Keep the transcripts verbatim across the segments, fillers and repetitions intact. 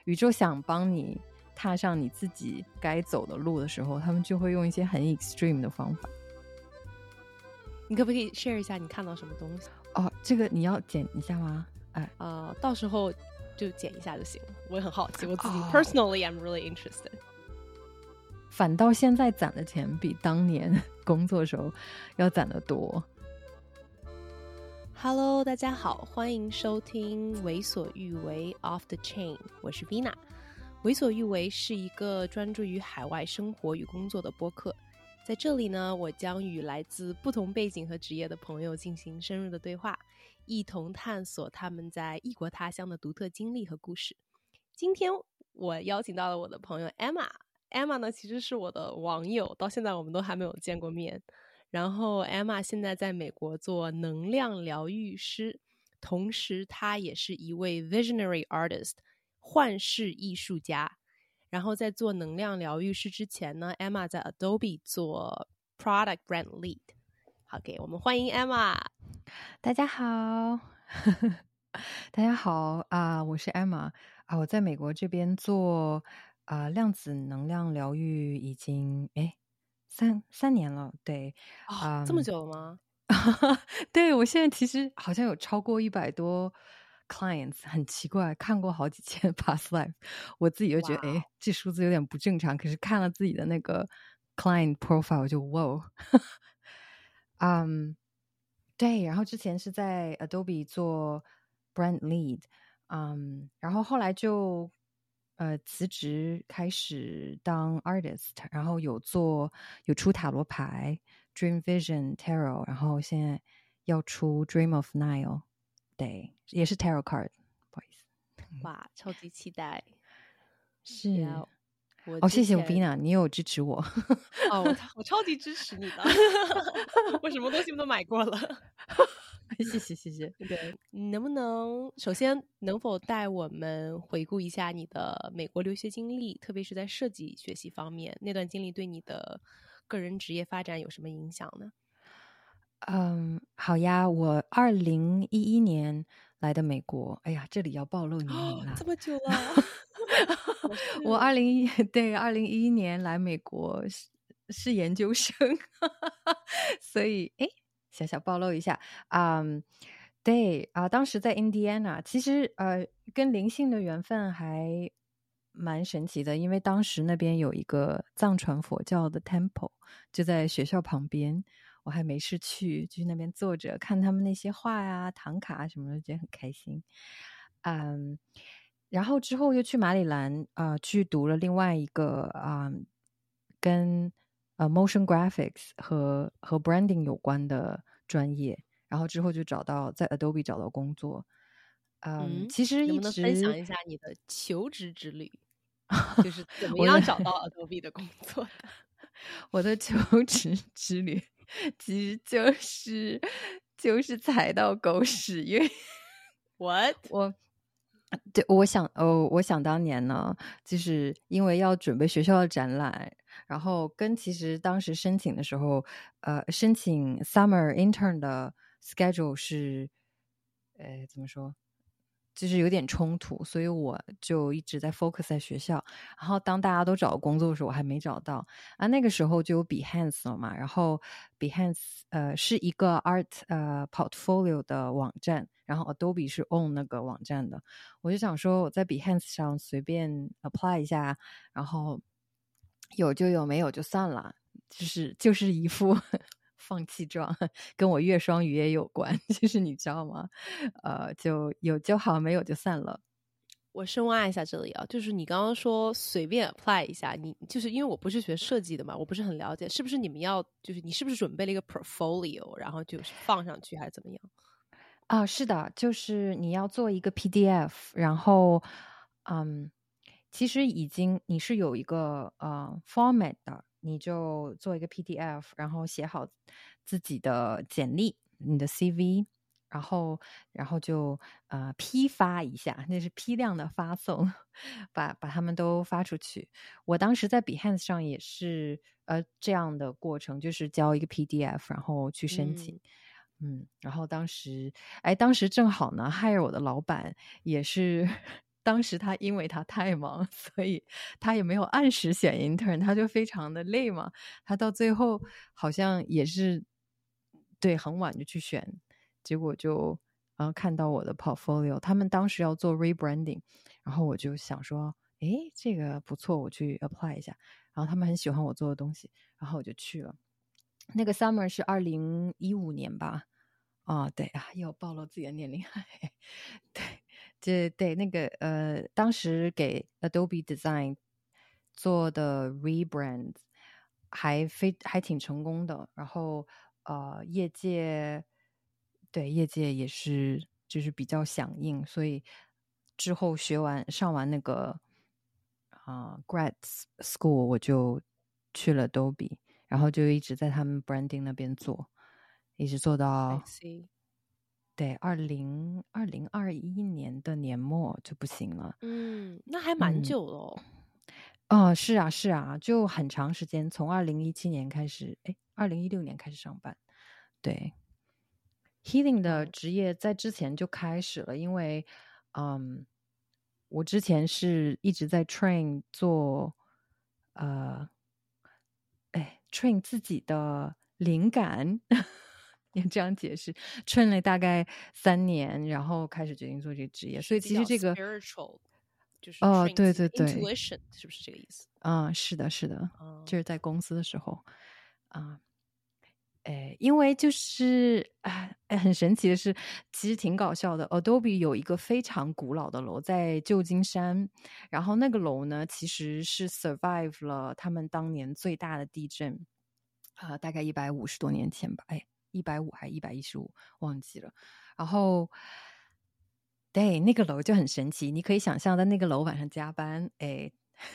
宇宙想帮你踏上你自己该走的路的时候，他们就会用一些很 extreme 的方法。 你可不可以 share 一下你看到什么东西？ 哦，这个你要剪一下吗？哎， 呃，到时候就剪一下就行了。我也很好奇，我自己、 哦、 personally I'm really interested。 反倒现在攒的钱比当年工作的时候要攒得多。 Hello， 大家好，欢迎收听为所欲为 Off the Chain， 我是 Vina。为所欲为是一个专注于海外生活与工作的播客，在这里呢，我将与来自不同背景和职业的朋友进行深入的对话，一同探索他们在异国他乡的独特经历和故事。今天我邀请到了我的朋友 Emma，Emma 呢其实是我的网友，到现在我们都还没有见过面。然后 Emma 现在在美国做能量疗愈师，同时她也是一位 visionary artist， 幻视艺术家。然后在做能量疗愈师之前呢， Emma 在 Adobe 做 product brand lead。 好，给我们欢迎 Emma。 大家好大家好啊、呃，我是 Emma 啊、呃，我在美国这边做啊、呃、量子能量疗愈已经诶三三年了，对， 哦、嗯，这么久了吗？ 对，我现在其实好像有超过一百多 clients， 很奇怪，看过好几千 past life， 我自己就觉得，哎，这数字有点不正常。可是看了自己的那个 client profile， 我就哇，嗯，对。然后之前是在 Adobe 做 brand lead， 嗯，然后后来就呃辞职开始当 artist， 然后有做有出塔罗牌。Dream Vision Tarot， 然后现在要出 Dream of Nile， 对，也是 Tarot card， 不好意思。 哇，超级期待。 是、 yeah, 我哦，谢谢 Vina， 你有支持我。 哦，我我超级支持你的。我什么东西都买过了。 谢谢谢谢。 对，能不能首先能否带我们回顾一下你的美国留学经历，特别是在设计学习方面，那段经历对你的个人职业发展有什么影响呢？ 嗯，好呀，我二零一一年来的美国。哎呀，这里要暴露年龄了。 哦，这么久了。 我二零一对二零一一年来美国是是研究生，所以哎，小小暴露一下，嗯，对啊、呃，当时在 Indiana， 其实呃跟灵性的缘分还蛮神奇的，因为当时那边有一个藏传佛教的 temple， 就在学校旁边。我还没事去，就去那边坐着看他们那些画呀、唐卡什么的，觉得很开心。嗯，然后之后又去马里兰啊、呃，去读了另外一个啊、呃、跟呃 motion graphics 和和 branding 有关的专业，然后之后就找到在 Adobe 找到工作。嗯， 嗯， 其实一直能不能分享一下你的求职之旅？就是怎么样找到 Adobe 的工作的？ 我的求职之旅其实就是就是踩到狗屎，因为 What？ 我对我想哦，我想当年呢，就是因为要准备学校的展览，然后跟其实当时申请的时候，呃，申请 summer intern 的 schedule 是，呃，怎么说？就是有点冲突，所以我就一直在 focus 在学校。然后当大家都找工作的时候，我还没找到啊。那个时候就有 Behance 了嘛，然后 Behance 呃是一个 art 呃 portfolio 的网站，然后 Adobe 是 own 那个网站的。我就想说我在 Behance 上随便 apply 一下，然后有就有，没有就算了，就是就是一副放弃状，跟我月双鱼也有关，就是你知道吗？呃，就有就好，没有就散了。 我深挖一下这里啊，就是你刚刚说随便 apply 一下，你就是因为我不是学设计的嘛，我不是很了解，是不是你们要就是你是不是准备了一个 portfolio， 然后就是放上去还是怎么样？ 啊，是的，就是你要做一个 P D F， 然后嗯，其实已经你是有一个呃 format 的，你就做一个 P D F， 然后写好自己的简历，你的 C V， 然后然后就呃批发一下，那是批量的发送，把把他们都发出去。我当时在 Behance 上也是呃这样的过程，就是交一个 P D F， 然后去申请。嗯嗯，然后当时，哎，当时正好呢，hire我的老板也是当时他因为他太忙，所以他也没有按时选 intern， 他就非常的累嘛。他到最后好像也是对很晚就去选，结果就呃看到我的 portfolio， 他们当时要做 rebranding， 然后我就想说，诶，这个不错，我去 apply 一下。然后他们很喜欢我做的东西，然后我就去了。那个 summer 是二零一五年吧？啊，对啊，又暴露自己的年龄。对，这对那个呃，当时给 Adobe Design 做的 rebrand 还非还挺成功的，然后呃，业界对业界也是就是比较响应，所以之后学完上完那个啊、呃、grad school， 我就去了 Adobe， 然后就一直在他们 branding 那边做，一直做到 I see。 对，二零二零二一年的年末就不行了。 嗯，那还蛮嗯， 久了哦。 哦，是啊，是啊，就很长时间，从二零一七年开始，哎，二零一六年开始上班。对，Healing 的嗯职业在之前就开始了，因为，嗯，我之前是一直在 train 做，呃，哎，train 自己的灵感。也这样解释，train 了大概三年，然后开始决定做这个职业。所以是比较其实这个， spiritual，就是哦， train 对自己的对对， intuition，是不是这个意思？ 啊、是的，是的， 啊、 就是在公司的时候啊。哎，因为就是哎哎，很神奇的是，其实挺搞笑的。Adobe 有一个非常古老的楼在旧金山，然后那个楼呢，其实是 survive 了他们当年最大的地震，啊、呃大概一百五十多年前吧，哎，一百五还一百一十五，忘记了。然后，对，那个楼就很神奇，你可以想象在那个楼晚上加班，哎。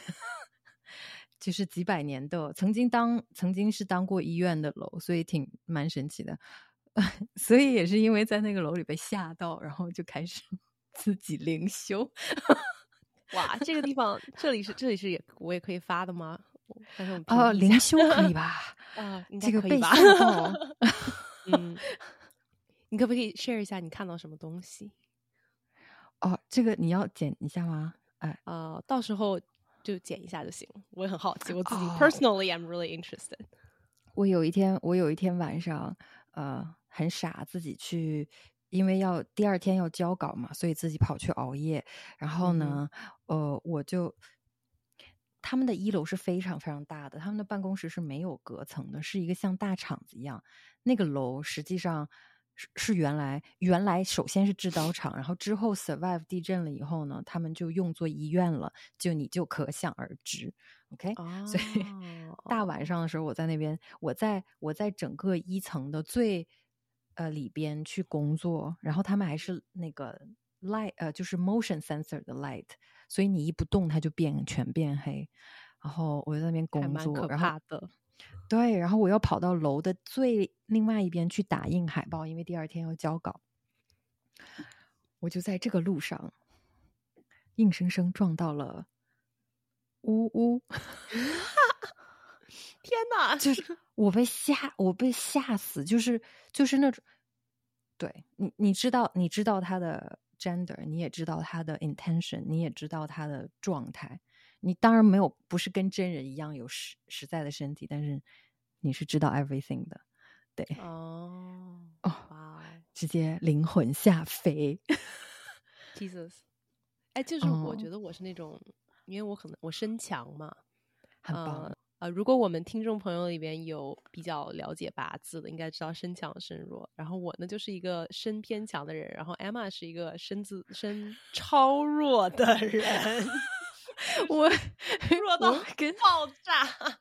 就是几百年的，曾经当曾经是当过医院的楼，所以挺蛮神奇的。所以也是因为在那个楼里被吓到，然后就开始自己灵修。 哇，这个地方，这里是这里是也我也可以发的吗？但是我们屏呃， 蔽一下。 灵修可以吧？ 啊、应该这个被可以吧？ 吓到。 嗯，你可不可以 share 一下你看到什么东西？ 哦，这个你要剪一下吗？哎， 呃，到时候就剪一下就行。我也很好奇，我自己、 哦， personally I'm really interested。 我有一天，我有一天晚上，呃，很傻，自己去，因为要第二天要交稿嘛，所以自己跑去熬夜。然后呢，呃，我就他们的一楼是非常非常大的，他们的办公室是没有隔层的，是一个像大厂子一样。那个楼实际上是是原来原来首先是制刀厂，然后之后 survive 地震了以后呢，他们就用作医院了，就你就可想而知。OK， 哦， 所以大晚上的时候，我在那边，我在我在整个一层的最呃里边去工作，然后他们还是那个 light 呃就是 motion sensor 的 light，所以你一不动它就变全变黑。然后我在那边还蛮可， 工作然后怕的。 对，然后我要跑到楼的最另外一边去打印海报，因为第二天要交稿。我就在这个路上，硬生生撞到了呜呜。 天哪！ 就是我被吓，我被吓死，就是就是那种，对你你知道你知道他的 gender， 你也知道他的 intention， 你也知道他的状态。你当然没有不是跟真人一样有实实在的身体，但是你是知道 everything 的。对， 哦， 哦， 哇， 直接灵魂下飞。 Jesus，哎，就是我觉得我是那种，因为我可能我身强嘛， 很棒。 呃呃，如果我们听众朋友里边有比较了解八字的，应该知道身强身弱。然后我呢就是一个身偏强的人，然后 Emma 是一个身自身超弱的人， 我弱到我跟爆炸。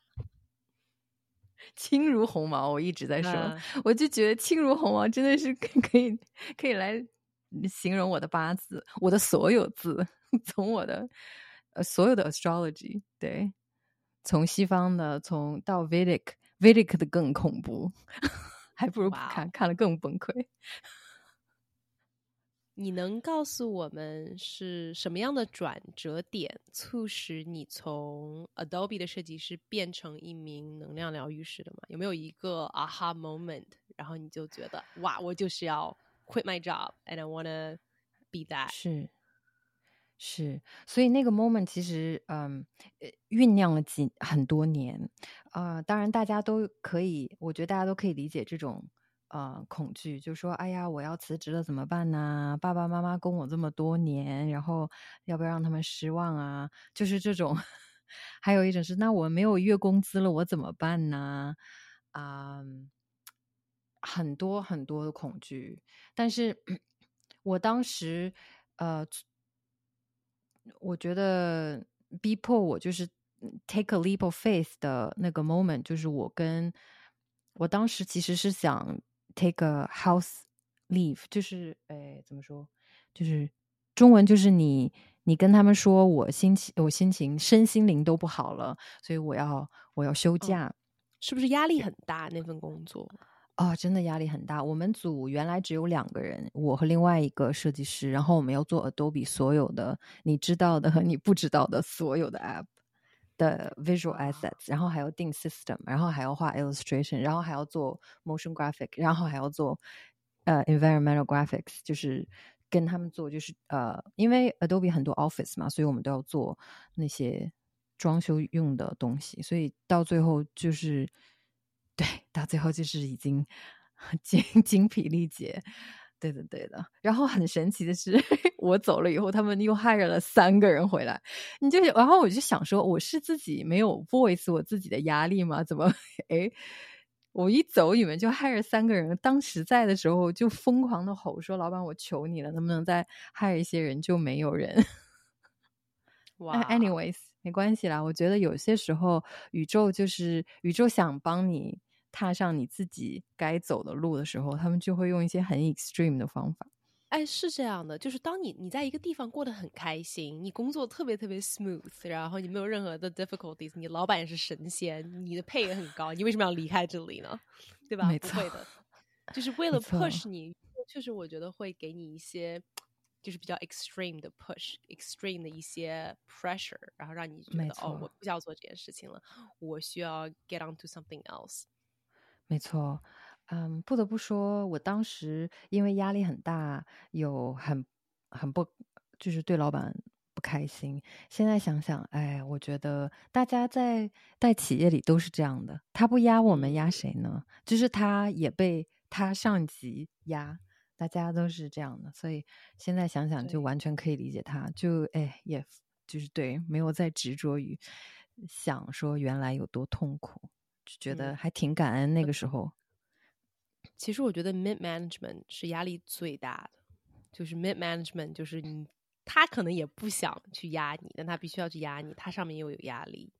轻如鸿毛，我一直在说， 嗯我就觉得轻如鸿毛真的是可以可以来形容我的八字，我的所有字，从我的呃所有的 astrology， 对，从西方的，从到 Vedic Vedic 的更恐怖，还不如不看， Wow 看了更崩溃。 你能告诉我们是什么样的转折点促使你从 Adobe 的设计师变成一名能量疗愈师的吗？有没有一个 aha moment， 然后你就觉得哇，我就是要 quit my job and I wanna be that？ 是是，所以那个 moment 其实嗯呃酝酿了几很多年，呃，当然大家都可以，我觉得大家都可以理解这种呃恐惧，就说哎呀我要辞职了怎么办呢？爸爸妈妈供我这么多年，然后要不要让他们失望啊？就是这种，还有一种是那我没有月工资了我怎么办呢？啊、很多很多的恐惧，但是我当时呃我觉得逼迫我就是 take a leap of faith 的那个 moment，就是我跟我当时其实是想 take a house leave，就是哎怎么说，就是中文就是你你跟他们说我心情我心情身心灵都不好了，所以我要我要休假。 嗯，是不是压力很大那份工作？ 哦，真的压力很大。我们组原来只有两个人，我和另外一个设计师，然后我们要做 Adobe 所有的你知道的和你不知道的所有的 app 的 visual assets，然后还要定 system，然后还要画 illustration，然后还要做 motion graphic，然后还要做呃 environmental graphics，就是跟他们做，就是呃，因为 Adobe 很多 office 嘛，所以我们都要做那些装修用的东西，所以到最后就是。对，到最后就是已经精精疲力竭，对的对的。然后很神奇的是，我走了以后，他们又 hire 了三个人回来。你就然后我就想说，我是自己没有 voice 我自己的压力吗？怎么哎，我一走你们就 hire 三个人？当时在的时候就疯狂的吼说：“老板，我求你了，能不能再 hire 一些人？”就没有人。 哇 anyways 没关系啦，我觉得有些时候宇宙就是宇宙想帮你踏上你自己该走的路的时候，他们就会用一些很 extreme 的方法。 哎，是这样的，就是当你你在一个地方过得很开心，你工作特别特别 smooth，然后你没有任何的 difficulties，你老板也是神仙，你的配也很高，你为什么要离开这里呢？对吧？ 没错， 不会的，就是为了没错 push 你，确实我觉得会给你一些就是比较 extreme 的 push，extreme 的一些 pressure，然后让你觉得哦，我不需要做这件事情了，我需要 get on to something else。 没错，嗯，不得不说，我当时因为压力很大，有很很不，就是对老板不开心。现在想想，哎，我觉得大家在在企业里都是这样的，他不压我们， 嗯， 压谁呢？就是他也被他上级压，大家都是这样的。所以现在想想，就对， 完全可以理解他，就哎，也就是对，没有再执着于想说原来有多痛苦。就觉得嗯。 还挺感恩那个时候。 其实我觉得 mid management 是压力最大的，就是 mid management 就是你他可能也不想去压你，但他必须要去压你，他上面又有压力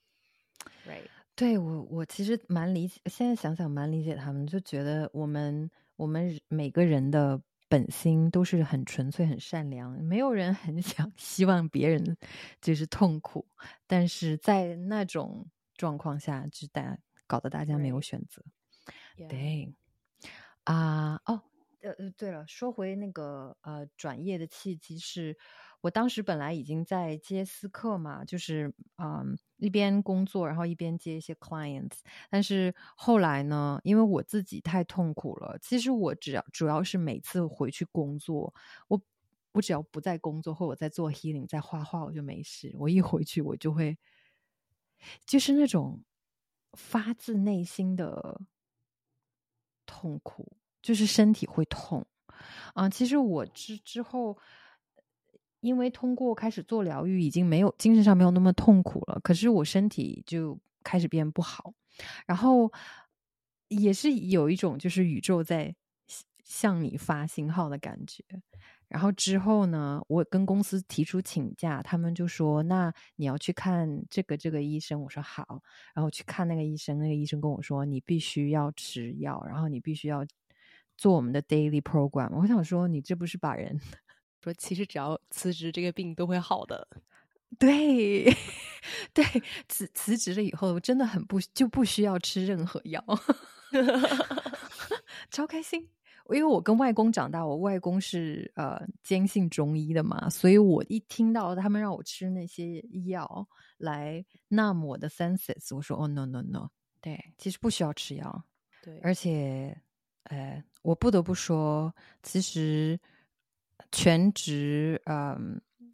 ，right？ 对，我我其实蛮理解，现在想想蛮理解他们，就觉得我们我们每个人的本心都是很纯粹、很善良，没有人很想希望别人就是痛苦，但是在那种状况下，就大搞得大家没有 Right， 选择。 yeah， 对啊，哦，呃呃，对了，说回那个呃转业的契机是，我当时本来已经在接私客嘛，就是嗯一边工作，然后一边接一些 clients，但是后来呢，因为我自己太痛苦了，其实我只要主要是每次回去工作，我我只要不在工作或我在做 healing，在画画，我就没事，我一回去我就会就是那种发自内心的痛苦，就是身体会痛。啊、其实我之之后，因为通过开始做疗愈，已经没有精神上没有那么痛苦了，可是我身体就开始变不好，然后也是有一种就是宇宙在向你发信号的感觉。然后之后呢，我跟公司提出请假，他们就说：“那你要去看这个这个医生。”我说：“好。”然后去看那个医生，那个医生跟我说：“你必须要吃药，然后你必须要做我们的 daily program。”我想说，你这不是把人说其实只要辞职，这个病都会好的。 对对辞辞职了以后，真的很不就不需要吃任何药，超开心。因为我跟外公长大，我外公是呃坚信中医的嘛，所以我一听到他们让我吃那些药来 numb 我的 senses， 我说哦 no no no， 对，其实不需要吃药， 对， 而且呃，我不得不说，其实全职嗯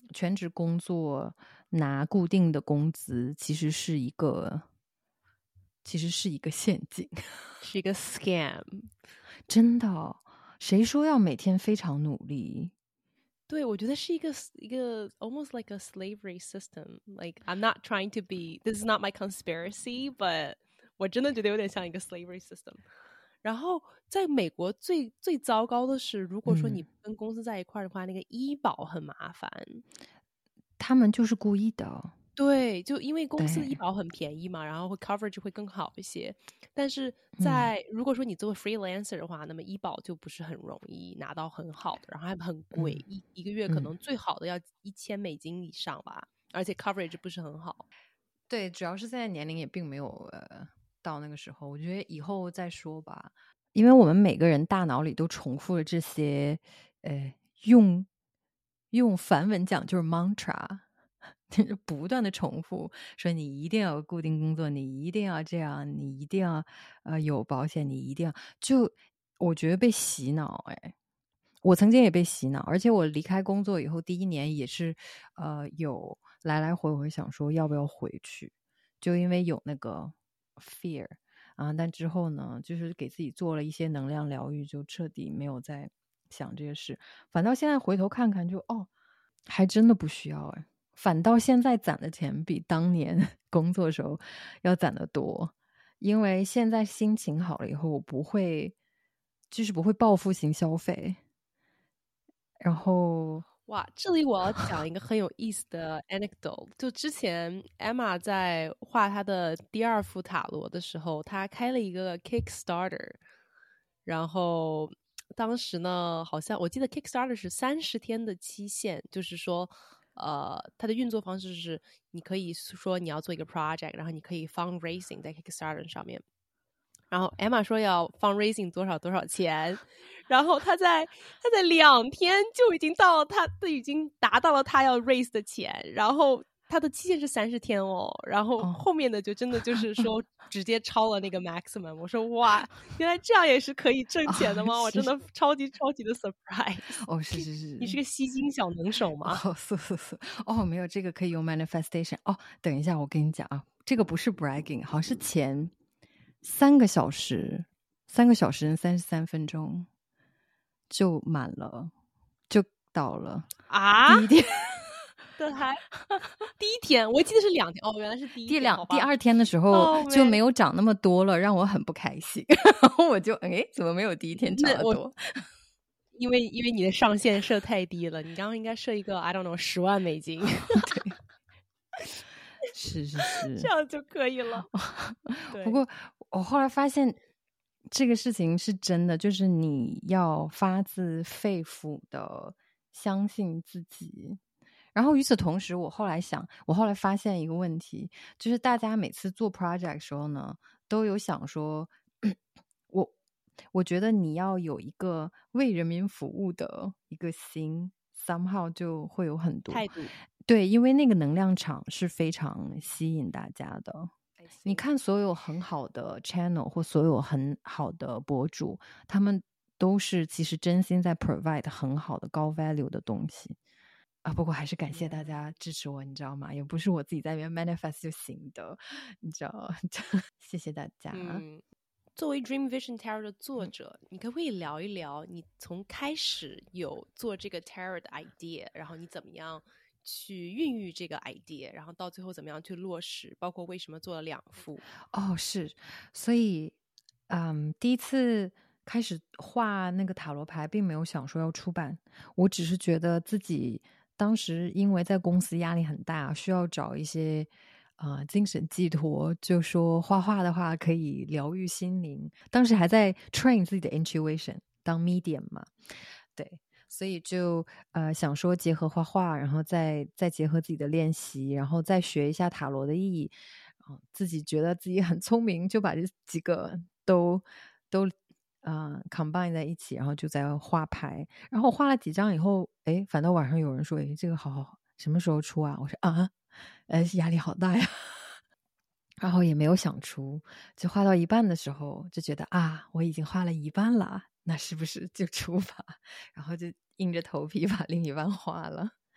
全职工作拿固定的工资，其实是一个，其实是一个陷阱， 是一个 scam。 真的，谁说要每天非常努力？ 对，我觉得是一个一个 almost like a slavery system. Like I'm not trying to be, this is not my conspiracy, but 我真的觉得有点像一个 slavery system。然后在美国最最糟糕的是，如果说你跟公司在一块儿的话，嗯、那个医保很麻烦。 他们就是故意的。 对，就因为公司医保很便宜嘛，然后会 coverage 会更好一些。但是在、嗯、如果说你做 freelancer 的话，那么医保就不是很容易拿到很好的，然后还很贵，嗯、一一个月可能最好的要一千美金以上吧，而且 coverage 不是很好。 对，主要是现在年龄也并没有呃到那个时候，我觉得以后再说吧。因为我们每个人大脑里都重复了这些，呃，用用梵文讲就是 mantra。不断的重复说你一定要有固定工作，你一定要这样，你一定要呃有保险，你一定要，就我觉得被洗脑。哎，我曾经也被洗脑，而且我离开工作以后第一年也是呃有来来回回想说要不要回去，就因为有那个 fear 啊，但之后呢就是给自己做了一些能量疗愈，就彻底没有再想这个事，反倒现在回头看看就哦还真的不需要。哎，反倒现在攒的钱比当年工作的时候要攒得多，因为现在心情好了以后，我不会，就是不会报复性消费。然后， 哇，这里我要讲一个很有意思的 anecdote。就之前 Emma 在画她的第二副塔罗的时候，她开了一个 Kickstarter， 然后当时呢，好像我记得 Kickstarter 是三十天的期限，就是说。呃，它的运作方式是，你可以说你要做一个 project， 然后你可以 fundraising 在 Kickstarter 上面。然后 Emma 说要 fundraising 多少多少钱，然后他在他在两天就已经到了，他都已经达到了他要 raise 的钱，然后他的期限是三十天哦，然后后面的就真的就是说直接超了那个 maximum。我说哇，原来这样也是可以挣钱的吗？哦、我真的超级超级的 surprise。 哦，是是是， 你是个吸金小能手吗？ 哦，是是是，哦，没有，这个可以用 manifestation。哦，等一下，我跟你讲啊，这个不是 bragging， 好像是前三个小时，三个小时三十三分钟就满了，就到了啊！ 第一天。 的还第一天，我记得是两天哦，原来是第一天。 第两第二天的时候就没有涨那么多了，让我很不开心。然后我就哎，怎么没有第一天涨得多？ 因为因为你的上限设太低了，你刚刚应该设一个 I don't know 十万美金。 对，是是是， 这样就可以了。 不过我后来发现这个事情是真的，就是你要发自肺腑的相信自己。然后与此同时，我后来想，我后来发现一个问题，就是大家每次做 project 的时候呢，都有想说，我我觉得你要有一个为人民服务的一个心 ，somehow 就会有很多态度。 对，因为那个能量场是非常吸引大家的。你看，所有很好的 channel 或所有很好的博主，他们都是其实真心在 provide 很好的高 value 的东西。啊，不过还是感谢大家支持我，你知道吗？也不是我自己在那边 manifest 就行的，你知道谢谢大家。 嗯，作为 Dream Vision Tarot 的作者，嗯、你可不可以聊一聊你从开始有做这个 Tarot 的 idea， 然后你怎么样去孕育这个 idea， 然后到最后怎么样去落实，包括为什么做了两副？ 哦，是，所以，嗯，第一次开始画那个塔罗牌，并没有想说要出版，我只是觉得自己。当时因为在公司压力很大，需要找一些呃精神寄托，就说画画的话可以疗愈心灵。当时还在 train 自己的 intuition 当 medium 嘛，对，所以就呃想说结合画画，然后再再结合自己的练习，然后再学一下塔罗的意义。呃、自己觉得自己很聪明，就把这几个都都。呃 combine 在一起，然后就在画牌，然后画了几张以后，哎，反倒晚上有人说，哎，这个好好好，什么时候出啊？我说啊，呃，压力好大呀，然后也没有想出，就画到一半的时候就觉得啊，我已经画了一半了，那是不是就出吧？然后就硬着头皮把另一半画了。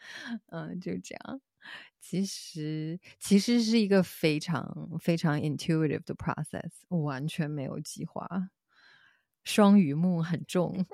嗯，就这样。其实其实是一个非常非常 intuitive 的 process，完全没有计划。双鱼木很重。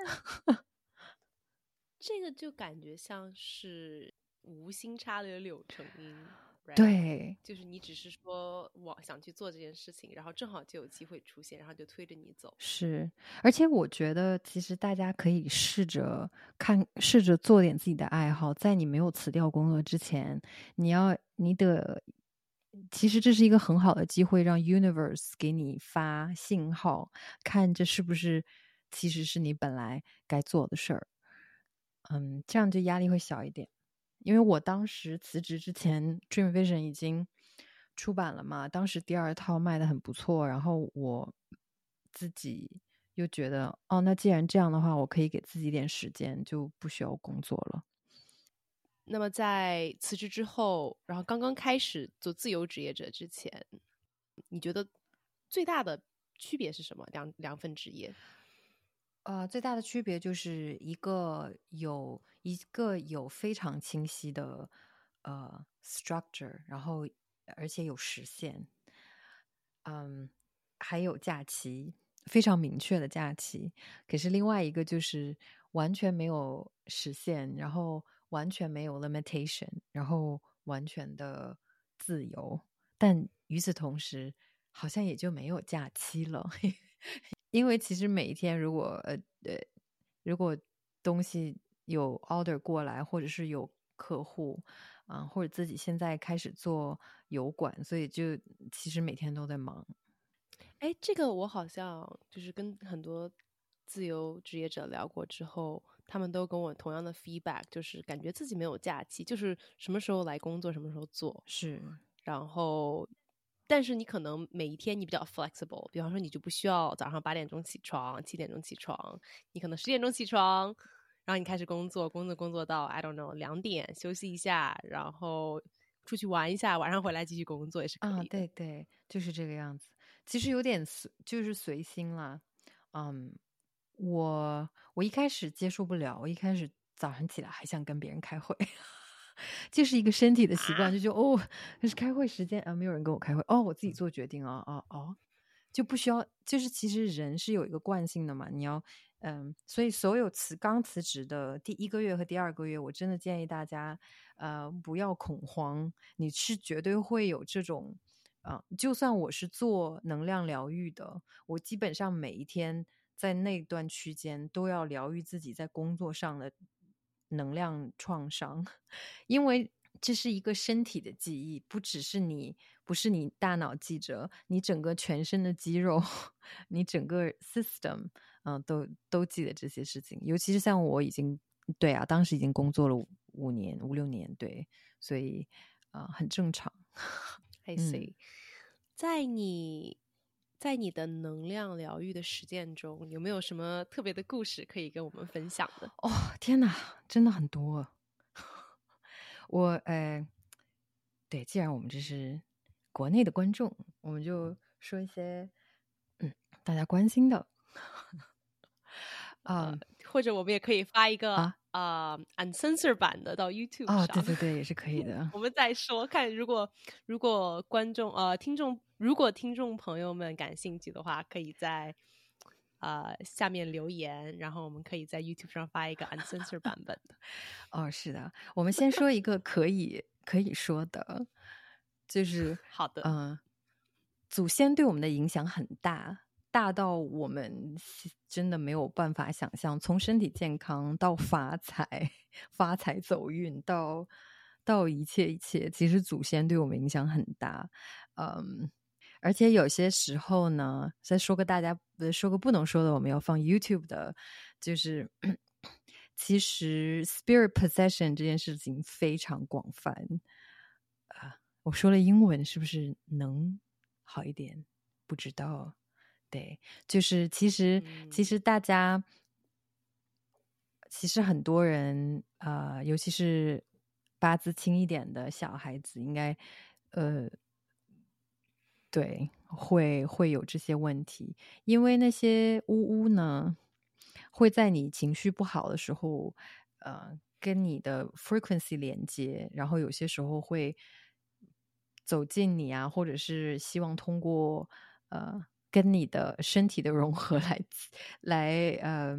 这个就感觉像是无心插柳柳成荫， right？ 对， 就是你只是说我想去做这件事情，然后正好就有机会出现，然后就推着你走。 是，而且我觉得其实大家可以试着看，试着做点自己的爱好，在你没有辞掉工作之前，你要你的，其实这是一个很好的机会，让 universe 给你发信号，看这是不是其实是你本来该做的事儿。嗯，这样就压力会小一点。因为我当时辞职之前 Dream Vision 已经出版了嘛，当时第二套卖的很不错，然后我自己又觉得，哦，那既然这样的话，我可以给自己一点时间，就不需要工作了。 那么在辞职之后，然后刚刚开始做自由职业者之前，你觉得最大的区别是什么？两两份职业？ 呃，最大的区别就是一个有一个有非常清晰的呃 structure，然后而且有时限，嗯，还有假期，非常明确的假期。可是另外一个就是完全没有时限，然后完全没有 limitation，然后完全的自由，但与此同时，好像也就没有假期了。因为其实每一天如果呃呃，如果东西有 order 过来，或者是有客户啊、呃，或者自己现在开始做油管，所以就其实每天都在忙。 哎，这个我好像就是跟很多自由职业者聊过之后，他们都跟我同样的 feedback，就是感觉自己没有假期，就是什么时候来工作什么时候做。 是， 然后但是你可能每一天你比较 flexible， 比方说你就不需要早上八点钟起床，七点钟起床，你可能十点钟起床，然后你开始工作，工作工作到 I don't know 两点休息一下，然后出去玩一下，晚上回来继续工作也是可啊， 以的。 对对，就是这个样子。其实有点随，就是随心啦。嗯，我我一开始接受不了，我一开始早上起来还想跟别人开会，就是一个身体的习惯， 啊， 就觉得哦，那是开会时间啊，没有人跟我开会，哦，我自己做决定啊啊哦，就不需要，就是其实人是有一个惯性的嘛，你要嗯，所以所有辞刚辞职的第一个月和第二个月，我真的建议大家呃不要恐慌，你是绝对会有这种。呃，就算我是做能量疗愈的，我基本上每一天在那段区间都要疗愈自己在工作上的能量创伤，因为这是一个身体的记忆，不只是你，不是你大脑记着，你整个全身的肌肉，你整个 system，嗯、呃，都都记得这些事情。尤其是像我已经，对啊，当时已经工作了五五年、五六年，对，所以啊、呃，很正常。 I 嗯 see。在你在你的能量疗愈的实践中，有没有什么特别的故事可以跟我们分享的？ 哦，天哪，真的很多。我呃，对，既然我们这是国内的观众，我们就说一些嗯大家关心的。 呃， 嗯或者我们也可以发一个啊呃 uncensored 版的到 YouTube 哦， 上， 对对对，也是可以的。 我们再说看，如果如果观众呃听众如果听众朋友们感兴趣的话，可以在呃下面留言，然后我们可以在 YouTube 上发一个 uncensored 版本的。 哦，是的，我们先说一个可以可以说的，就是好的， 嗯、呃，祖先对我们的影响很大，大到我们真的没有办法想象，从身体健康到发财、发财走运，到到一切一切，其实祖先对我们影响很大。嗯，而且有些时候呢，再说个大家说个不能说的，我们要放 YouTube 的，就是其实 spirit possession 这件事情非常广泛。啊、呃，我说了英文是不是能好一点？不知道。对，就是其实、 嗯， 其实大家其实很多人呃，尤其是八字轻一点的小孩子，应该呃，对，会会有这些问题，因为那些巫巫呢，会在你情绪不好的时候，呃， 跟你的 frequency 连接，然后有些时候会走近你啊，或者是希望通过呃跟你的身体的融合来来呃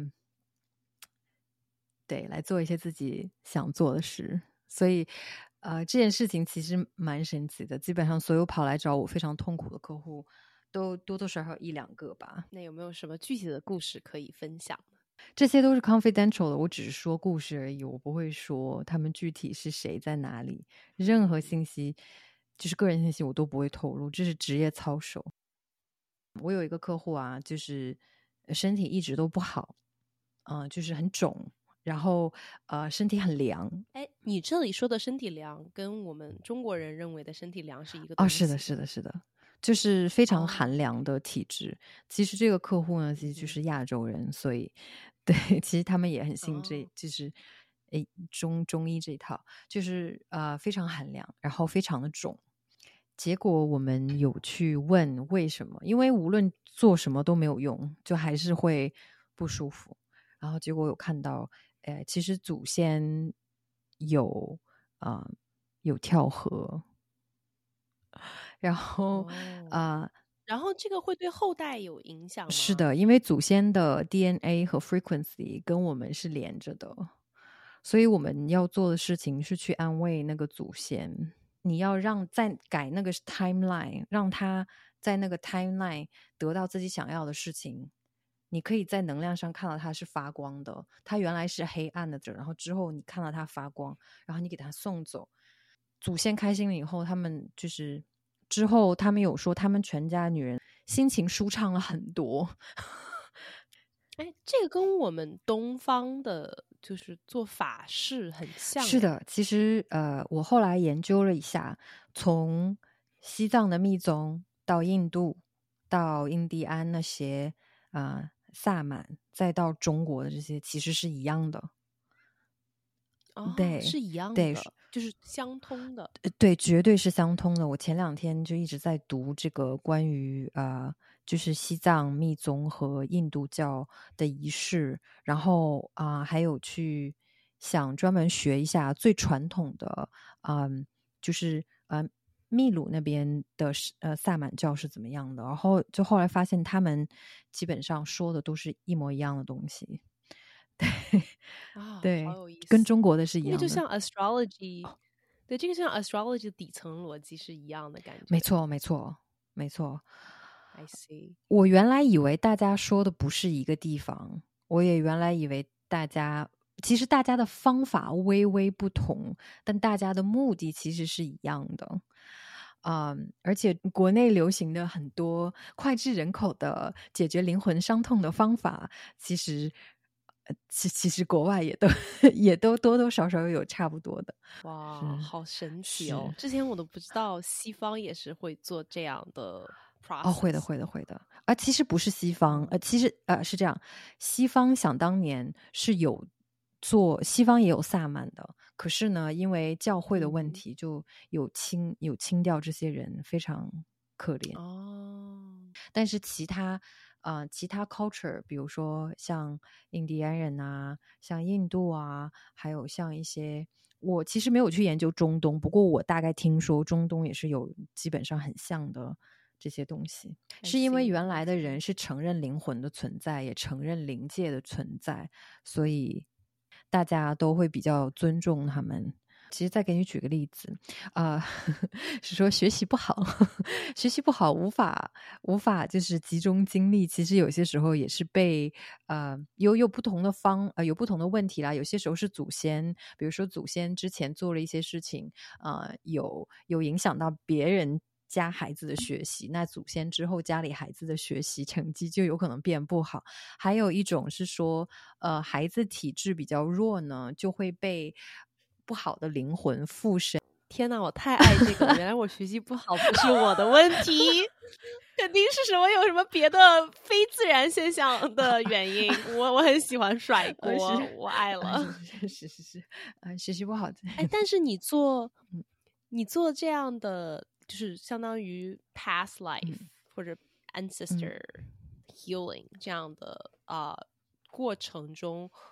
对来做一些自己想做的事，所以呃这件事情其实蛮神奇的，基本上所有跑来找我非常痛苦的客户都多多少少一两个吧。 那有没有什么具体的故事可以分享呢？ 这些都是 confidential 的，我只是说故事而已，我不会说他们具体是谁在哪里，任何信息就是个人信息我都不会透露，这是职业操守。我有一个客户啊，就是身体一直都不好，嗯、呃，就是很肿，然后呃身体很凉。 哎，你这里说的身体凉跟我们中国人认为的身体凉是一个哦， 东西？ 是的是的是的，就是非常哦寒凉的体质。其实这个客户呢，其实就是亚洲人，所以对，其实他们也很信这， 哦就是诶中中医这一套，就是呃非常寒凉，然后非常的肿。结果我们有去问为什么，因为无论做什么都没有用，就还是会不舒服。然后结果有看到，呃，其实祖先有啊、呃有跳河，然后哦， 啊、呃然后这个会对后代有影响吗？ 是的，因为祖先的 D N A 和 frequency 跟我们是连着的，所以我们要做的事情是去安慰那个祖先。你要让再改那个 timeline， 让他在那个 timeline 得到自己想要的事情。你可以在能量上看到它是发光的，它原来是黑暗的，然后之后你看到它发光，然后你给它送走。祖先开心了以后，他们就是之后他们有说，他们全家女人心情舒畅了很多。 哎，这个跟我们东方的就是做法事很像。 是的，其实呃，我后来研究了一下，从西藏的密宗到印度，到印第安那些啊、呃、萨满，再到中国的这些，其实是一样的。 哦， 对是一样对的，就是相通的。 呃对，绝对是相通的。我前两天就一直在读这个关于呃，就是西藏密宗和印度教的仪式，然后啊、呃还有去想专门学一下最传统的，嗯，就是呃秘鲁那边的呃萨满教是怎么样的。然后就后来发现他们基本上说的都是一模一样的东西。对啊，好对， 有意思。 跟中国的是一样的。 这个就像 astrology，对，这个像 astrology 的底层逻辑是一样的感觉。 没错，没错，没错。 I see。 我原来以为大家说的不是一个地方，我也原来以为大家其实大家的方法微微不同，但大家的目的其实是一样的。嗯，而且国内流行的很多脍炙人口的解决灵魂伤痛的方法，其实，呃其其实国外也都也都多多少少有差不多的。 哇， 是好神奇哦！ 是之前我都不知道西方也是会做这样的 process。 哦，会的，会的，会的。啊，其实不是西方，呃，其实呃是这样，西方想当年是有做，西方也有萨满的，可是呢，因为教会的问嗯题，就有清有清掉这些人，非常可怜。 哦， 但是其他呃其他 culture，比如说像印第安人啊，像印度啊，还有像一些。我其实没有去研究中东，不过我大概听说中东也是有基本上很像的这些东西， I 是因为 see， 原来的 I see 人是承认灵魂的存在，也承认灵界的存在，所以大家都会比较尊重他们。其实再给你举个例子，呃，是说学习不好，学习不好无法无法就是集中精力。其实有些时候也是被呃有有不同的方呃有不同的问题啦。有些时候是祖先，比如说祖先之前做了一些事情，呃，有有影响到别人家孩子的学习，那祖先之后家里孩子的学习成绩就有可能变不好。还有一种是说，呃，孩子体质比较弱呢，就会被不好的灵魂附身。 天哪，我太爱这个了！原来我学习不好不是我的问题，肯定是什么有什么别的非自然现象的原因。我我很喜欢甩锅， 呃我爱了。 是是是是，呃，学习不好。 哎，但是你做你做这样的，就是相当于 past life、 嗯、 或者 ancestor、嗯、healing 这样的啊、呃、过程中，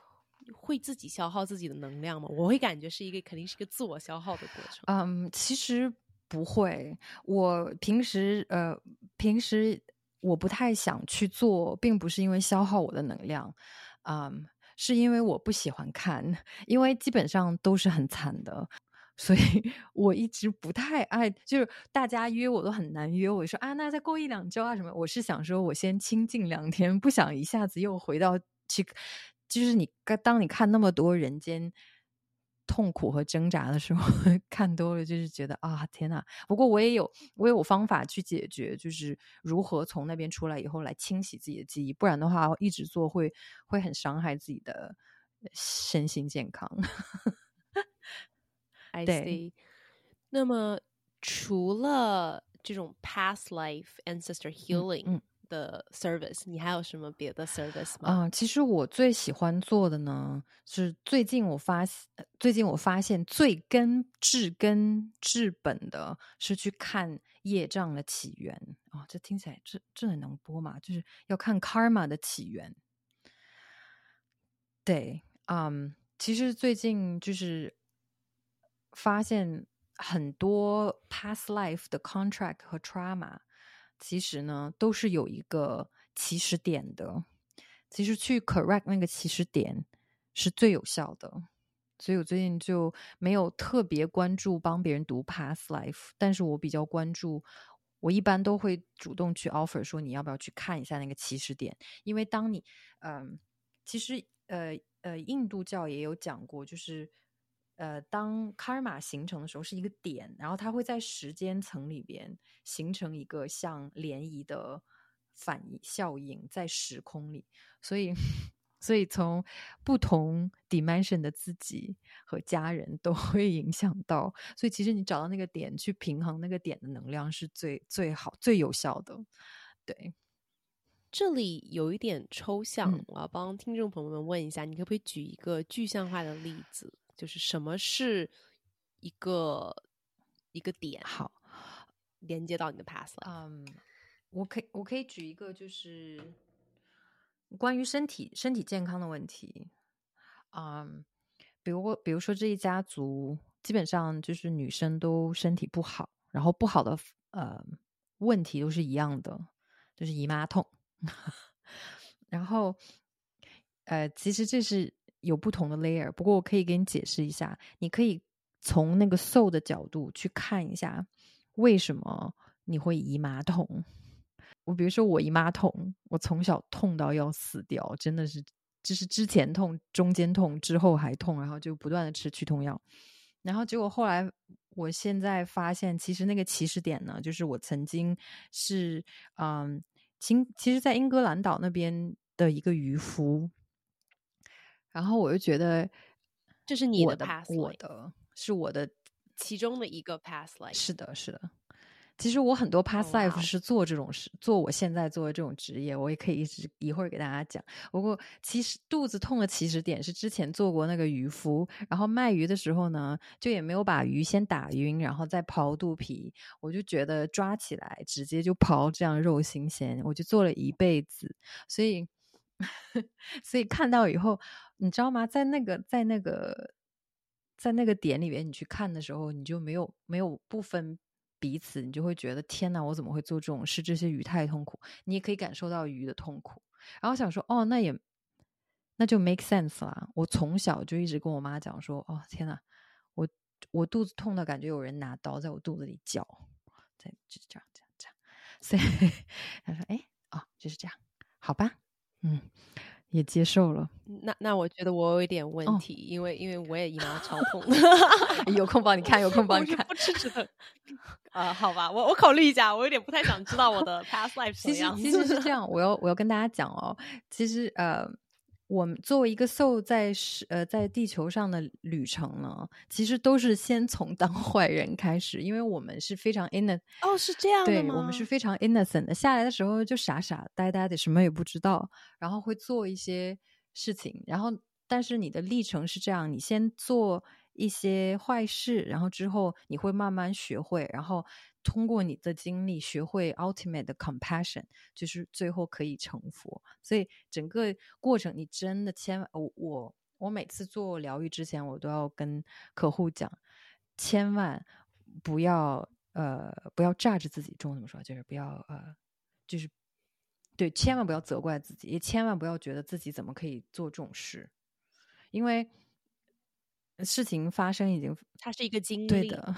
会自己消耗自己的能量吗？我会感觉是一个肯定是一个自我消耗的过程。 嗯，其实不会，我平时呃平时我不太想去做，并不是因为消耗我的能量，嗯，是因为我不喜欢看，因为基本上都是很惨的。所以我一直不太爱，就是大家约我都很难约。我说啊，那再过一两周啊什么？我是想说，我先清静两天，不想一下子又回到去。就是你当你看那么多人间痛苦和挣扎的时候，看多了就是觉得啊，天哪！不过我也有我也有方法去解决，就是如何从那边出来以后来清洗自己的记忆，不然的话一直做会会很伤害自己的身心健康。 I 对 see。那么除了这种 past life ancestor 嗯 healing 嗯的 service，、你还有什么别的 service 吗？ 啊、其实我最喜欢做的呢，是最近我发呃最近我发现最根治根治本的是去看业障的起源啊、这听起来这这很能播嘛？就是要看 karma 的起源。对，嗯，其实最近就是发现很多 past life 的 contract 和 trauma，其实呢都是有一个起始点的。其实去 correct 那个起始点是最有效的。所以我最近就没有特别关注帮别人读 past life， 但是我比较关注，我一般都会主动去 offer 说你要不要去看一下那个起始点，因为当你嗯、呃，其实呃呃，印度教也有讲过，就是呃，当 karma 形成的时候是一个点，然后它会在时间层里边形成一个像涟漪的反效应在时空里，所以所以从不同 dimension 的自己和家人都会影响到，所以其实你找到那个点去平衡那个点的能量是最最好最有效的。对， 这里有一点抽象， 嗯， 我要帮听众朋友们问一下，你可不可以举一个具象化的例子，就是什么是一个一个点， 好， 连接到你的 past life？ 嗯，我可以我可以举一个就是关于身体身体健康的问题，嗯，比如比如说这一家族基本上就是女生都身体不好，然后不好的呃问题都是一样的，就是姨妈痛。然后呃，其实这是有不同的 layer， 不过我可以给你解释一下，你可以从那个 soul 的角度去看一下，为什么你会姨妈痛。我比如说我姨妈痛，我从小痛到要死掉，真的是就是之前痛，中间痛，之后还痛，然后就不断的吃去痛药，然后结果后来我现在发现，其实那个起始点呢，就是我曾经是嗯，其其实在英格兰岛那边的一个渔夫，然后我就觉得这是你的我的 past 我 life， 的是我的其中的一个 past life。 是的，是的。其实我很多 past 哦，哇 life 哦， 是做这种事，做我现在做的这种职业，我也可以一直一会儿给大家讲。不过其实肚子痛的起始点是之前做过那个渔夫，然后卖鱼的时候呢，就也没有把鱼先打晕，然后再刨肚皮，我就觉得抓起来直接就刨，这样肉新鲜，我就做了一辈子。所以所以看到以后，你知道吗？在那个在那个在那个点里面，你去看的时候，你就没有没有不分彼此，你就会觉得天哪，我怎么会做这种事？这些鱼太痛苦，你也可以感受到鱼的痛苦。然后想说，哦，那也那就 make sense 啦。我从小就一直跟我妈讲说，哦，天哪，我我肚子痛的感觉有人拿刀在我肚子里绞，在就这样这样这样。所以他说，哎，哦，就是这样，好吧，嗯，也接受了。 那那我觉得我有一点问哦， 题，因为因为我也姨妈超痛， 有空帮你看，有空帮你看。 我是不吃止疼。啊、好吧，我我考虑一下，我有点不太想知道我的 past life 什其实么样子。 其实是这样，我要我要跟大家讲哦，其实呃，我们作为一个 soul 在是呃在地球上的旅程呢，其实都是先从当坏人开始，因为我们是非常 innocent， 哦，是这样的对吗？ 我们是非常 innocent 的，下来的时候就傻傻呆呆的，什么也不知道，然后会做一些事情，然后但是你的历程是这样，你先做一些坏事，然后之后你会慢慢学会，然后通过你的经历学会 ultimate 的 compassion， 就是最后可以成佛。所以整个过程你真的千万，我我我每次做疗愈之前，我都要跟客户讲，千万不要呃不要炸着自己，中文怎么说？就是不要呃就是对，千万不要责怪自己，也千万不要觉得自己怎么可以做这种事，因为事情发生已经， 它是一个经历。 对的。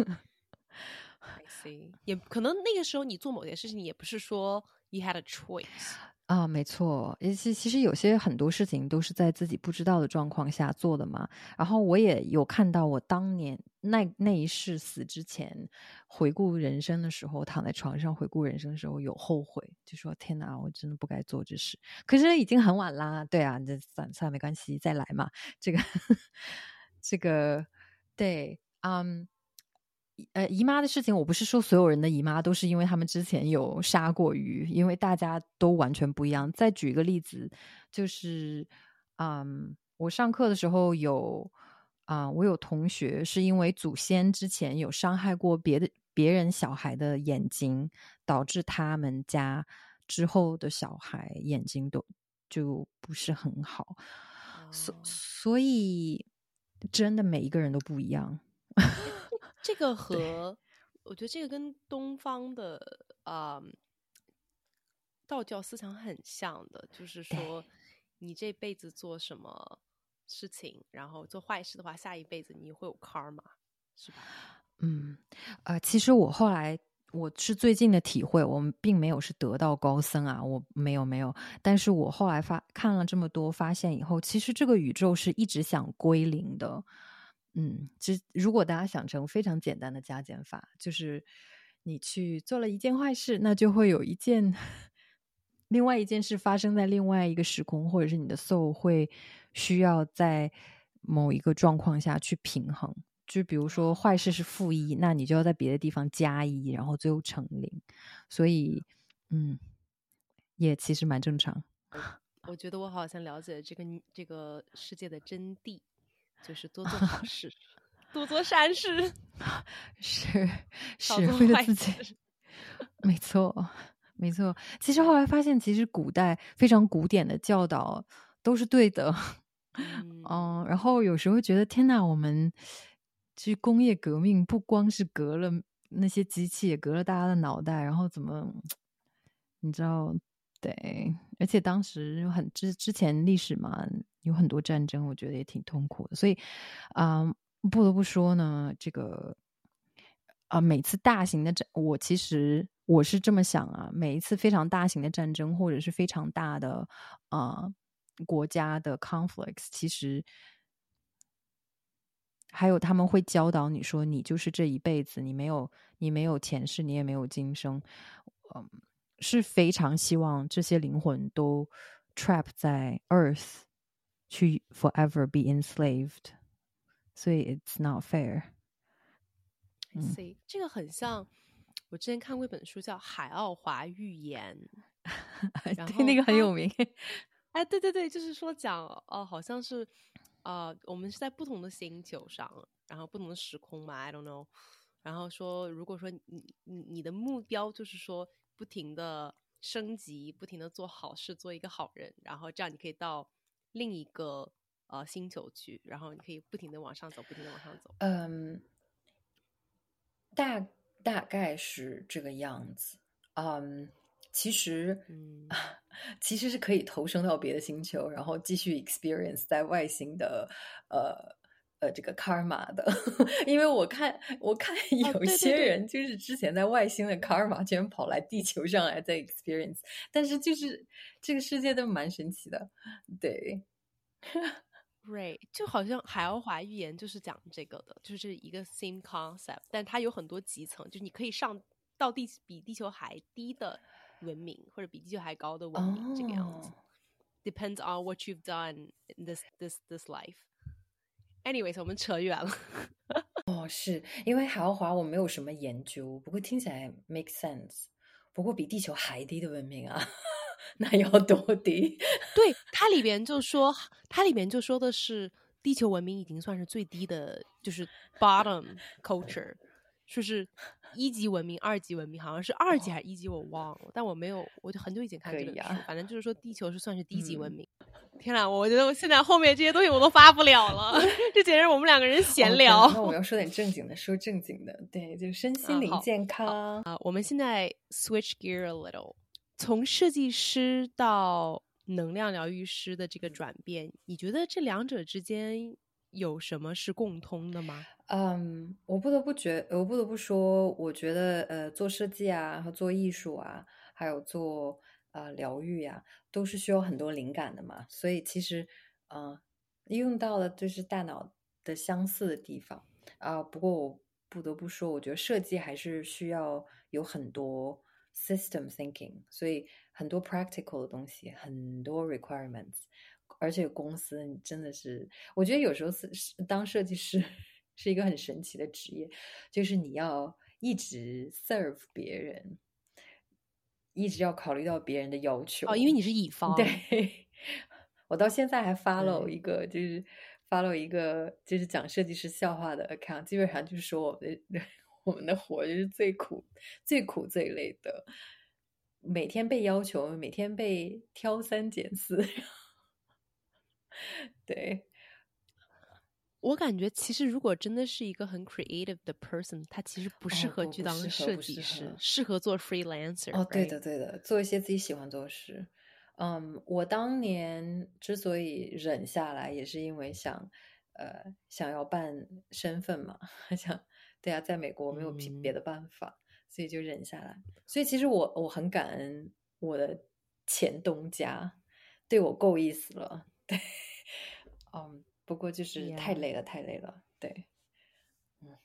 I see， 也可能那个时候你做某件事情，也不是说 you had a choice。 啊，没错，其其实有些很多事情都是在自己不知道的状况下做的嘛。然后我也有看到，我当年那那一世死之前，回顾人生的时候，躺在床上回顾人生的时候有后悔，就说天哪，我真的不该做这事。可是已经很晚啦，对啊，这算算没关系，再来嘛。这个这个对，嗯。呃，姨妈的事情，我不是说所有人的姨妈都是因为他们之前有杀过鱼，因为大家都完全不一样。再举一个例子，就是，嗯，我上课的时候有，啊、我有同学是因为祖先之前有伤害过别的别人小孩的眼睛，导致他们家之后的小孩眼睛都就不是很好，所、 哦、 所以真的每一个人都不一样。 这个和我觉得这个跟东方的啊、嗯、道教思想很像的，就是说你这辈子做什么事情，然后做坏事的话，下一辈子你会有 karma， 是吧？ 嗯，呃，其实我后来我是最近的体会，我们并没有是得道高僧啊，我没有没有，但是我后来发看了这么多，发现以后，其实这个宇宙是一直想归零的。嗯，只如果大家想成非常简单的加减法，就是你去做了一件坏事，那就会有一件另外一件事发生在另外一个时空，或者是你的 soul 会需要在某一个状况下去平衡。就比如说坏事是负一，那你就要在别的地方加一，然后最后乘零。所以，嗯，也其实蛮正常。 我觉得我好像了解这个这个世界的真谛，就是多做好事，多做善事， 是少是为了做坏自己， 事。 没错没错。其实后来发现，其实古代非常古典的教导都是对的。 嗯， 嗯，然后有时候觉得天哪，我们其实工业革命不光是革了那些机器，也革了大家的脑袋，然后怎么你知道？对，而且当时很之之前历史嘛，有很多战争，我觉得也挺痛苦的。所以，啊、嗯，不得不说呢，这个啊、呃，每次大型的战，我其实我是这么想啊，每一次非常大型的战争，或者是非常大的啊、呃、国家的 conflicts，其实还有他们会教导你说，你就是这一辈子，你没有你没有前世，你也没有今生，嗯。是非常希望这些灵魂都 trap 在 Earth 去 forever be enslaved， 所以 it's not fair。 I see， 这个很像我之前看过一本书叫《海奥华预言》， 对，那个很有名。 哎，对对对，就是说讲哦，好像是呃，我们是在不同的星球上，然后不同的时空嘛 ，I don't know。然后说，如果说你你你的目标就是说不停的升级，不停的做好事，做一个好人，然后这样你可以到另一个呃星球去，然后你可以不停的往上走，不停的往上走。 嗯，大大概是这个样子。嗯，其实， 嗯， 其实是可以投生到别的星球，然后继续 experience 在外星的呃。呃，这个 karma 的，因为我看我看有些人就是之前在外星的 karma 居然跑来地球上来再 experience， 但是就是这个世界都蛮神奇的，对。 Right， 就好像海奥华预言就是讲这个的，就是一个 same concept， 但它有很多级层，就是你可以上到地比地球还低的文明，或者比地球还高的文明， oh. 这个样子。Depends on what you've done in this this this life。Anyways， 我们扯远了。 哦，是因为海奥华我没有什么研究，不过听起来 make sense。不过比地球还低的文明啊，那要多低？ 对，它里边就说，它里边就说的是地球文明已经算是最低的，就是 bottom culture，就是一级文明二级文明，好像是二级还是一级我忘了，但我没有，我就很久以前看这本书、啊、反正就是说地球是算是低级文明、嗯、天哪，我觉得我现在后面这些东西我都发不了了这简直是我们两个人闲聊、 哦、那我们要说点正经的，说正经的，对，就身心灵健康啊、 呃、我们现在 switch gear a little， 从设计师到能量疗愈师的这个转变，你觉得这两者之间有什么是共通的吗？ 嗯，我不得不觉，我不得不说，我觉得呃，做设计啊，和做艺术啊，还有做呃疗愈啊，都是需要很多灵感的嘛。所以其实呃，用到的就是大脑的相似的地方啊、呃。不过我不得不说，我觉得设计还是需要有很多 system thinking， 所以很多 practical 的东西，很多 requirements。而且公司你真的是，我觉得有时候是当设计师是一个很神奇的职业，就是你要一直 serve 别人，一直要考虑到别人的要求。 哦，因为你是乙方。 对，我到现在还 follow 一个，就是 follow 一个就是讲设计师笑话的 account， 基本上就是说我们的我们的活就是最苦、最苦、最累的，每天被要求，每天被挑三拣四。对， 我感觉其实如果真的是一个很 creative 的 person， 他其实不适合去当设计师、哦、适, 适合做 freelancer。 哦，对的对的，做一些自己喜欢做的事。嗯，我当年之所以忍下来，也是因为想呃想要办身份嘛，想对啊，在美国没有别的办法、嗯、所以就忍下来。所以其实我我很感恩我的前东家，对我够意思了。对，嗯，不过就是太累了、yeah. 太累了。对，嗯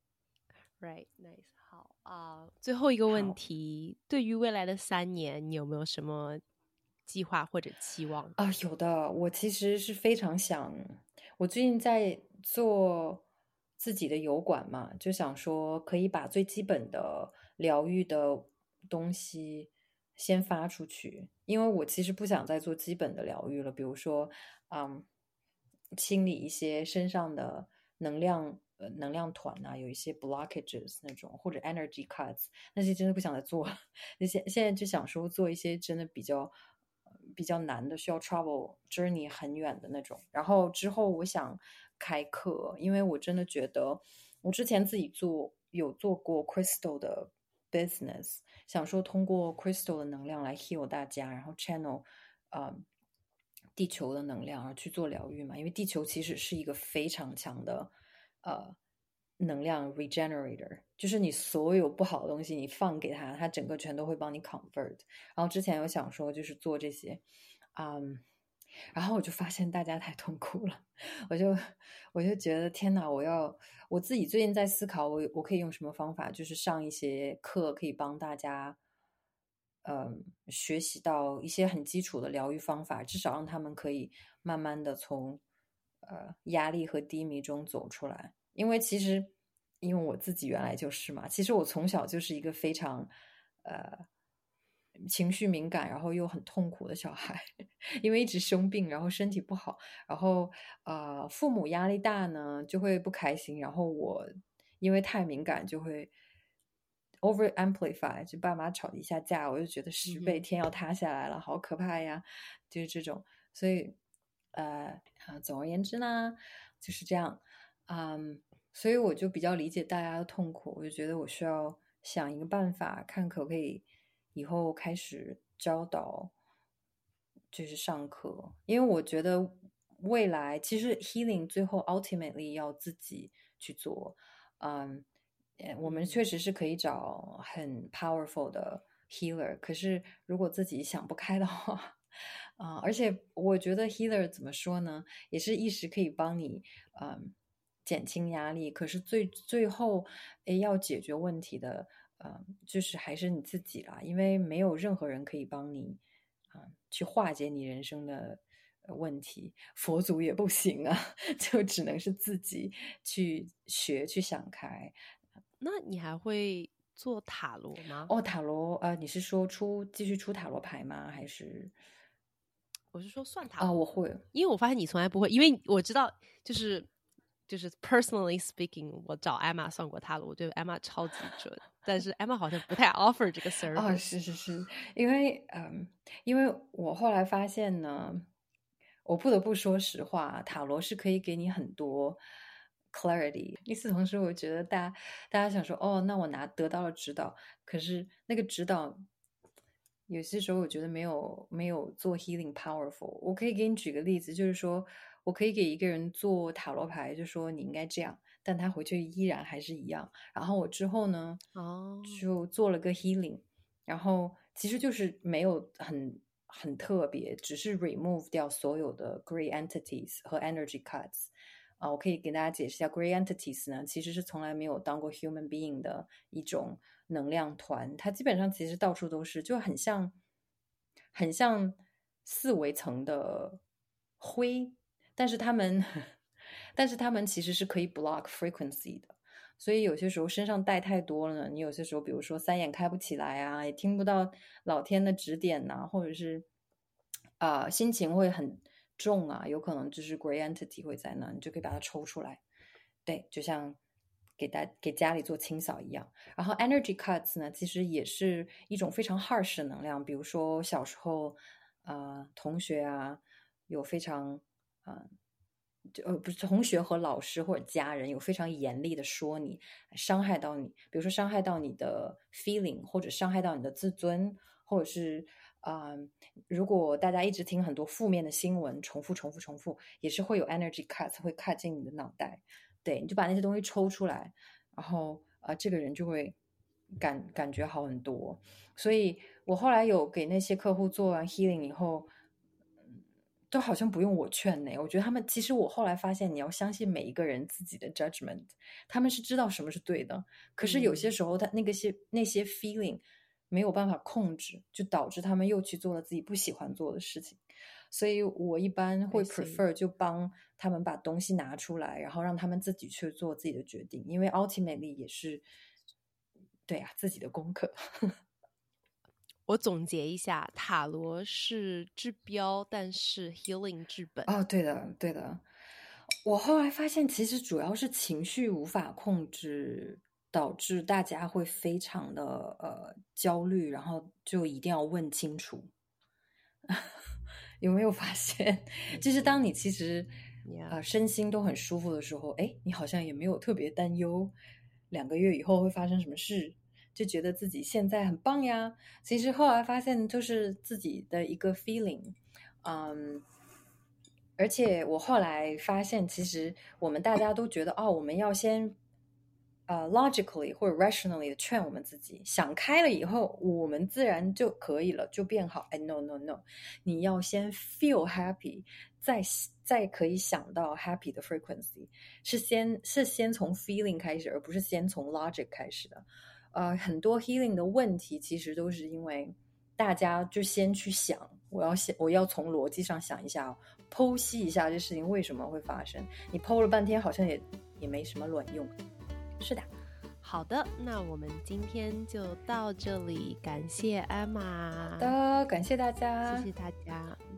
Right, nice。 好啊、uh, 最后一个问题，对于未来的三年你有没有什么计划或者期望啊？有的，我其实是非常想，我最近在做自己的油管嘛，就想说可以把最基本的疗愈的东西先发出去，因为我其实不想再做基本的疗愈了，比如说嗯，清理一些身上的能量呃能量团啊，有一些 blockages 那种，或者 energy cuts， 那些真的不想再做了。现现在就想说做一些真的比较比较难的，需要 travel journey 很远的那种。然后之后我想开课，因为我真的觉得我之前自己做有做过 crystal 的 business， 想说通过 crystal 的能量来 heal 大家，然后 channel 呃地球的能量而去做疗愈嘛，因为地球其实是一个非常强的呃能量 regenerator， 就是你所有不好的东西你放给它，它整个全都会帮你 convert。然后之前有想说就是做这些嗯，然后我就发现大家太痛苦了，我就我就觉得天哪，我要我自己最近在思考我我可以用什么方法，就是上一些课可以帮大家嗯，学习到一些很基础的疗愈方法，至少让他们可以慢慢的从呃压力和低迷中走出来。因为其实因为我自己原来就是嘛，其实我从小就是一个非常呃情绪敏感，然后又很痛苦的小孩，因为一直生病，然后身体不好，然后呃父母压力大呢就会不开心，然后我因为太敏感就会over amplify， 就爸妈吵一下架，我就觉得十倍天要塌下来了，好可怕呀，就是这种。所以呃总而言之呢就是这样。嗯，所以我就比较理解大家的痛苦，我就觉得我需要想一个办法，看可不可以以后开始教导，就是上课。因为我觉得未来其实 healing 最后 ultimately 要自己去做。嗯，我们确实是可以找很 powerful 的 healer， 可是如果自己想不开的话啊、呃，而且我觉得 healer 怎么说呢，也是一时可以帮你嗯减轻压力，可是最最后诶要解决问题的呃就是还是你自己啦，因为没有任何人可以帮你啊、呃、去化解你人生的问题，佛祖也不行啊，就只能是自己去学去想开。 那你还会做塔罗吗？ 哦，塔罗呃，你是说出继续出塔罗牌吗？还是我是说算塔罗啊、哦？我会， 因为我发现你从来不会，因为我知道就是就是 personally speaking 我找 Emma 算过他了，我觉得 Emma 超级准，但是 Emma 好像不太 offer 这个 service。 哦，是是是，因为嗯，因为我后来发现呢，我不得不说实话，塔罗是可以给你很多 clarity。与此同时，我觉得大家大家想说，哦，那我拿得到了指导，可是那个指导有些时候我觉得没有没有做 healing powerful。我可以给你举个例子，就是说我可以给一个人做塔罗牌，就说你应该这样，但他回去依然还是一样。然后我之后呢， 哦， 就做了个 healing，然后其实就是没有很很特别，只是 remove 掉所有的 grey entities 和 energy cuts。啊，我可以给大家解释一下 grey entities 呢，其实是从来没有当过 human being 的一种能量团，它基本上其实到处都是，就很像很像四维层的灰，但是他们但是他们其实是可以 block frequency 的。所以有些时候身上带太多了呢，你有些时候比如说三眼开不起来啊，也听不到老天的指点呐、啊，或者是啊、呃、心情会很重啊，有可能就是 grey entity 会在那，你就可以把它抽出来。对，就像给大给家里做清扫一样。然后 energy cuts 呢，其实也是一种非常 harsh 的能量，比如说小时候呃同学啊有非常呃就呃不是同学和老师或者家人有非常严厉的说你，伤害到你，比如说伤害到你的 feeling， 或者伤害到你的自尊，或者是啊、呃，如果大家一直听很多负面的新闻，重复重复重复，也是会有 energy cuts 会 cut 进你的脑袋。对，你就把那些东西抽出来，然后呃，这个人就会感感觉好很多。所以我后来有给那些客户做完 healing 以后，都好像不用我劝呢。我觉得他们其实我后来发现，你要相信每一个人自己的 judgment， 他们是知道什么是对的。可是有些时候，他那个些那些 feeling 没有办法控制，就导致他们又去做了自己不喜欢做的事情。所以我一般会 prefer 就帮他们把东西拿出来，然后让他们自己去做自己的决定，因为 ultimately 也是对啊自己的功课。 我总结一下，塔罗是治标，但是 healing 治本。 哦，对的，对的。我后来发现，其实主要是情绪无法控制，导致大家会非常的呃焦虑，然后就一定要问清楚。有没有发现，就是当你其实 Yeah. 呃身心都很舒服的时候，哎，你好像也没有特别担忧两个月以后会发生什么事，就觉得自己现在很棒呀。其实后来发现，就是自己的一个 feeling， 嗯。而且我后来发现，其实我们大家都觉得，哦，我们要先呃 logically 或者 rationally 的劝我们自己，想开了以后，我们自然就可以了，就变好。哎 ，no no no，你要先 feel happy，再再可以想到 happy 的 frequency， 是先是先从 feeling 开始，而不是先从 logic 开始的。呃，很多 healing 的问题其实都是因为大家就先去想，我要先我要从逻辑上想一下哦，剖析一下这事情为什么会发生。你剖了半天，好像也也没什么卵用。是的， 好的，那我们今天就到这里，感谢 Emma。 好的，感谢大家， 谢谢大家。